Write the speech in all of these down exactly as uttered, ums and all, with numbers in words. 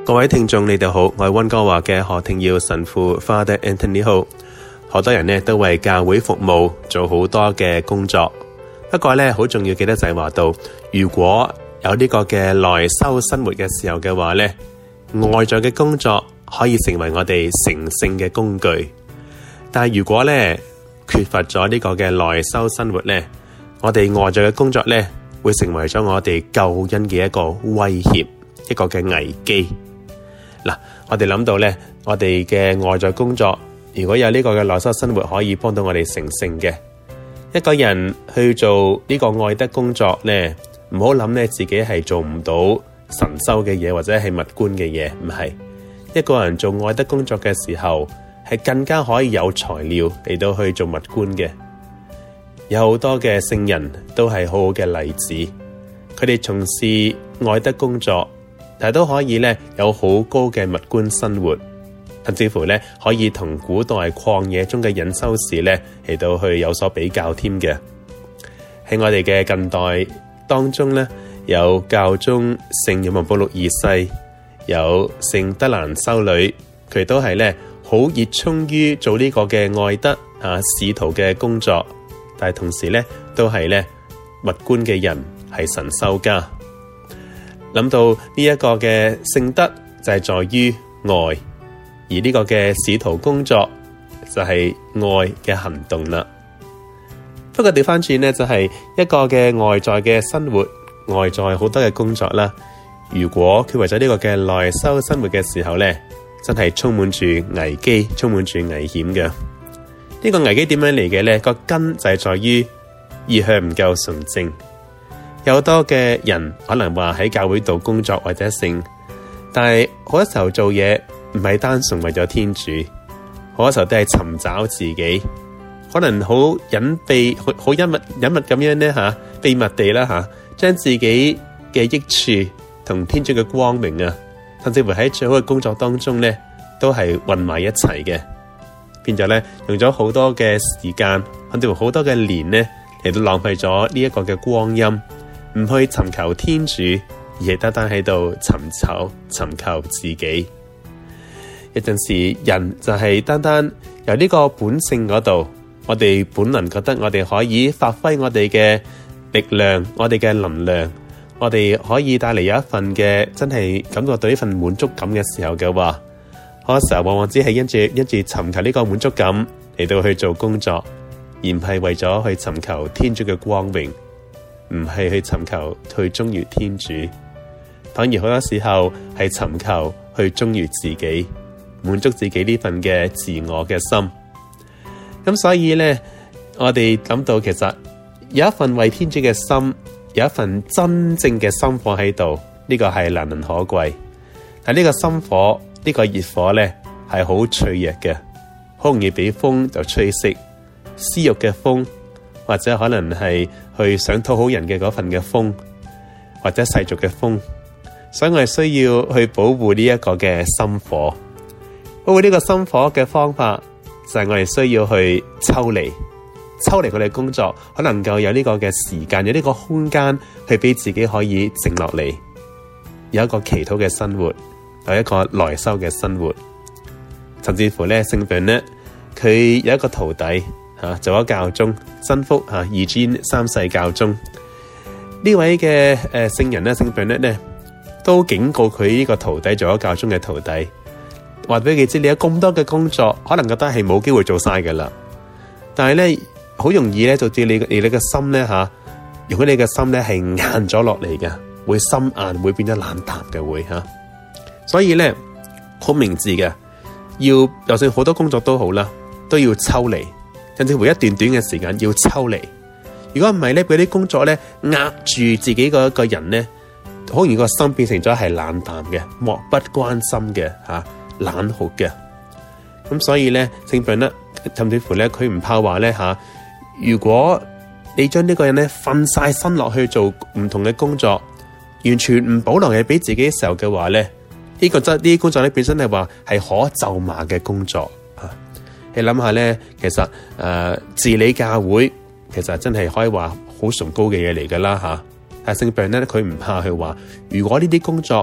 各位聽眾，你哋好，我係溫哥華嘅何廷耀神父 Father Anthony Ho。好多人呢都為教會服務，做好多嘅工作。不過呢，好重要記得就係話到，如果有呢個嘅內修生活嘅時候嘅話呢，外在嘅工作可以成為我哋成聖嘅工具。但係如果呢缺乏咗呢個嘅內修生活呢，我哋外在嘅工作呢會成為咗我哋救恩嘅一個威脅，一個嘅危機。嗱，我哋諗到咧，我哋嘅外在工作，如果有呢個嘅內修生活，可以幫到我哋成聖嘅。一個人去做呢個愛德工作咧，唔好諗咧自己係做唔到神修嘅嘢，或者係物觀嘅嘢，唔係。一個人做愛德工作嘅時候，係更加可以有材料嚟到去做物觀嘅。有好多嘅聖人都係好好嘅例子，佢哋從事愛德工作，但係都可以咧有好高嘅物觀生活，甚至乎咧可以同古代曠野中嘅隱修士咧嚟到去有所比較添嘅。喺我哋嘅近代當中咧，有教宗聖若望保祿二世，有聖德蘭修女，佢都係咧好熱衷於做呢個嘅愛德啊使徒嘅工作，但係同時咧都係咧物觀嘅人，係神修家。諗到呢一個嘅聖德就係在於愛，而呢個嘅使徒工作就係愛嘅行動啦。不過調翻轉呢，就係一個嘅外在嘅生活，外在好多嘅工作啦。如果佢為咗呢個嘅內修生活嘅時候呢，真係充滿住危機，充滿住危險嘅。呢個危機點樣嚟嘅呢？個根就係在於意向唔夠純正。有好多嘅人可能話喺教會度工作或者聖，但係好多時候做嘢唔係單純為咗天主，好多時候都係尋找自己，可能好隱秘、好好隱密、隱密咁樣咧吓，秘密地啦吓，將自己嘅益處同天主嘅光明啊，甚至乎喺最好嘅工作當中咧，都係混埋一齊嘅，變咗咧用咗好多嘅時間，甚至乎好多嘅年咧嚟到浪費咗呢一個嘅光陰。唔去尋求天主，而係單單喺度尋找、尋求自己。有陣時人就係單單由呢個本性嗰度，我哋本能覺得我哋可以發揮我哋嘅力量、我哋嘅能量，我哋可以帶嚟有一份嘅真係感覺到呢份滿足感嘅時候嘅話，好多時候往往只係因住因住尋求呢個滿足感嚟到去做工作，而唔係為咗去尋求天主嘅光榮。唔係去尋求去忠於天主，反而好多時候係尋求去忠於自己，滿足自己呢份嘅自我嘅心。咁所以呢，我哋諗到其實有一份為天主嘅心，有一份真正嘅心火喺度，呢個係難能可貴。但呢個心火，呢個熱火呢，係好脆弱嘅，好容易俾風就吹熄，私欲嘅風，或者可能係去想討好人嘅嗰份嘅風，或者世俗嘅風，所以我哋需要去保護呢一個嘅心火。保護呢個心火嘅方法就係我哋需要去抽離，抽離我哋工作，可能夠有呢個嘅時間，有呢個空間去俾自己可以靜落嚟，有一個祈禱嘅生活，有一個內修嘅生活。甚至乎咧，聖本咧，佢有一個徒弟。吓、啊、做咗教宗，真福吓，二尊三世教宗呢位嘅誒聖人咧，聖本咧咧都警告佢呢個徒弟做咗教宗嘅徒弟，話俾佢知你有咁多嘅工作，可能覺得係冇機會做晒噶啦，但係咧好容易咧導致你你你嘅心咧吓，如果你嘅心咧係硬咗落嚟嘅，會心硬，會變得冷淡嘅會吓、啊，所以咧好明智嘅，要就算好多工作都好啦，都要抽離。甚至乎一段短嘅時間要抽離，如果唔係咧，俾啲工作咧壓住自己個一個人咧，好容易個心變成咗係冷淡嘅、漠不關心嘅、吓、啊、冷酷嘅。咁所以咧，聖本咧，甚至乎咧，佢唔怕話咧吓，如果你將呢個人咧瞓晒身落去做唔同嘅工作，完全唔保留嘢俾自己嘅時候嘅話咧，呢、這個真呢啲工作咧本身係話係可咒罵嘅工作。你諗下咧，其實誒、呃、治理教會，其實真係可以話好崇高嘅嘢嚟噶啦吓。但係聖本咧，佢唔怕去話，如果呢啲工作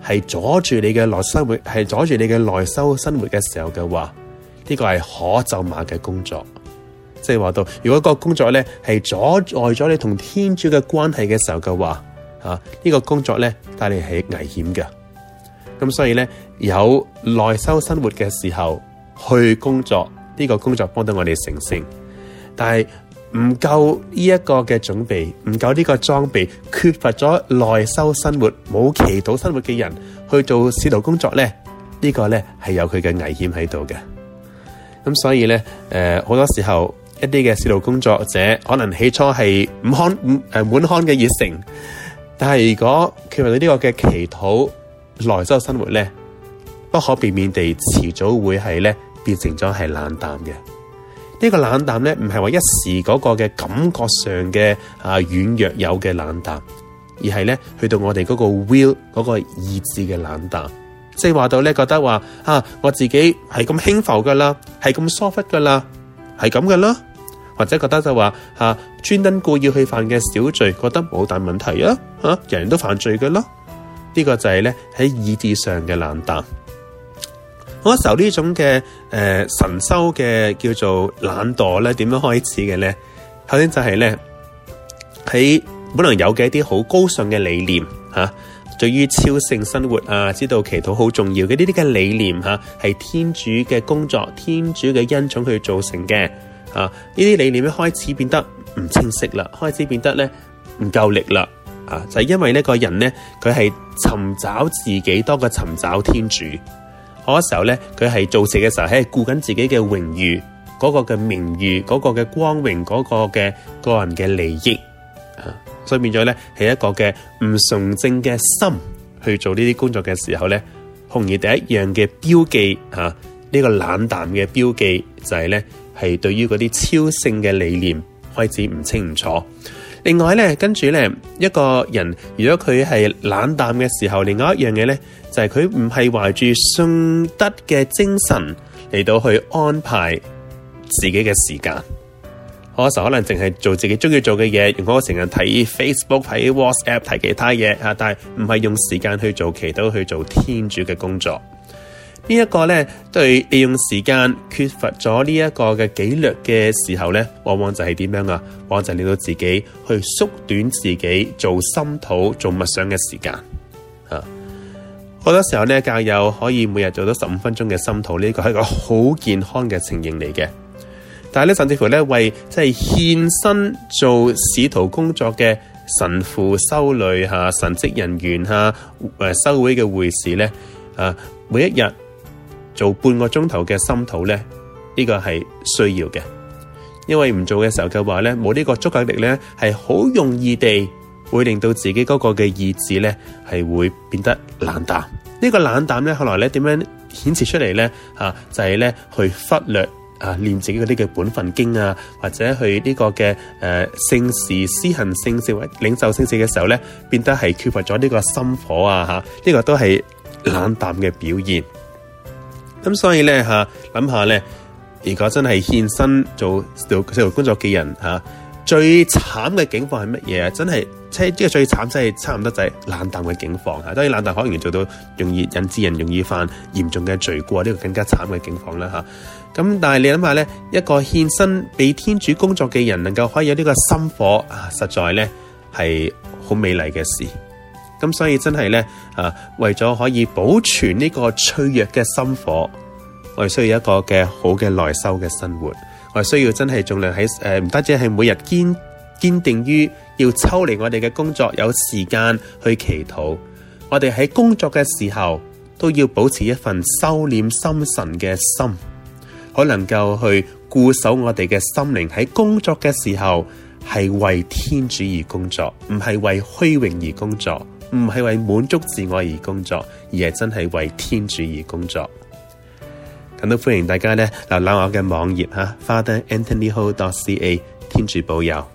係阻住你嘅內生活，係阻住你嘅內修生活嘅時候嘅話，呢個係可咒罵嘅工作。即係話到，如果個工作咧係阻礙咗你同天主嘅關係嘅時候嘅話，啊呢個工作咧帶嚟係危險嘅。咁所以咧有內修生活嘅時候去工作，呢個工作幫到我哋成聖。但係唔夠呢一個嘅準備，唔夠呢個裝備，缺乏咗內修生活，冇祈禱生活嘅人去做使徒工作咧，呢個咧係有佢嘅危險喺度嘅。咁所以咧，誒、呃、好多時候一啲嘅使徒工作者可能起初係唔看唔誒滿腔嘅熱誠，但係如果缺乏到呢個嘅祈禱內修生活咧，不可避免地遲早會係咧變成咗係冷淡嘅。呢個冷淡咧，唔係話一時嗰個嘅感覺上嘅啊軟弱有嘅冷淡，而係咧去到我哋嗰個 will 嗰個意志嘅冷淡，即係話到咧覺得話啊，我自己係咁輕浮噶啦，係咁疏忽噶啦，係咁噶啦，或者覺得就話啊專登故意去犯嘅小罪，覺得冇大問題啊，吓、啊、人人都犯罪噶啦，呢、這個就係咧喺意志上嘅冷淡。好多時候呢種嘅誒、呃、神修嘅叫做懶惰咧，點樣開始嘅咧？首先就係咧喺本來有嘅一啲好高尚嘅理念吓、啊，對於超性生活啊，知道祈禱好重要嘅呢啲嘅理念吓，係、啊、天主嘅工作，天主嘅恩寵去造成嘅啊。呢啲理念咧開始變得唔清晰啦，開始變得咧唔夠力啦啊！就係、是、因為呢個人咧，佢係尋找自己多過尋找天主。好多時候咧，佢係做事嘅時候係顧緊自己嘅榮譽，嗰、那個嘅名譽，嗰、那個嘅光榮，嗰、那個嘅個人嘅利益啊，所以變咗咧係一個嘅唔純正嘅心去做呢啲工作嘅時候咧，容易第一樣嘅標記啊，呢、這個冷淡嘅標記就係咧係對於嗰啲超性嘅理念開始唔清唔楚。另外咧，跟住咧一個人如果佢係冷淡嘅時候，另外一樣嘢咧就係佢唔係懷住信德嘅精神嚟到去安排自己嘅時間。好多時候可能淨係做自己中意做嘅嘢，用嗰個成日睇 Facebook、睇 WhatsApp、睇其他嘢啊，但係唔係用時間去做祈禱、去做天主嘅工作。呢一個咧，對利用時間缺乏咗呢一個嘅紀律嘅時候咧，往往就係點樣啊？往往就令到自己去縮短自己做心禱、做默想嘅時間啊。好多時候咧，教友可以每日做到十五分鐘嘅心禱，呢個係一個好健康嘅情形嚟嘅。但係咧，甚至乎咧，為即係獻身做使徒工作嘅神父、修女吓、神職人員吓、誒修會嘅會士咧，啊，每一日做半個鐘頭嘅心禱咧，呢個係需要嘅。因為唔做嘅時候嘅話咧，冇呢個足夠力咧，係好容易地會令到自己嗰個嘅意志咧係會變得冷淡。呢個冷淡咧，後來咧點樣顯示出嚟咧？啊，就係咧去忽略啊，念自己嗰啲嘅本分經啊，或者去呢個嘅誒聖事施行聖事或領受聖事嘅時候咧，變得係缺乏咗呢個心火啊！吓，呢個都係冷淡嘅表現。咁所以咧吓，諗下咧，如果真係獻身做做做工作嘅人吓，最慘嘅境況係乜嘢啊？真係即係呢個最慘，真係差唔多就係冷淡嘅境況吓。當然冷淡可能做到容易引致人容易犯嚴重嘅罪過，呢個更加慘嘅境況啦吓。咁但係你諗下咧，一個獻身俾天主工作嘅人，能夠可以有呢個心火啊，實在咧係好美麗嘅事。咁所以真係咧啊，為咗可以保存呢個脆弱嘅心火，我哋需要一個嘅好嘅內修嘅生活。我哋需要真係盡量喺誒，唔單止係每日堅堅定於要抽離我哋嘅工作，有時間去祈禱。我哋喺工作嘅時候都要保持一份收斂心神嘅心，可能夠去固守我哋嘅心靈。喺工作嘅時候係為天主而工作，唔係為虛榮而工作，唔係為滿足自我而工作，而係真係為天主而工作。咁都歡迎大家咧瀏覽我嘅網頁吓 father anthony ho dot c a， 天主保佑。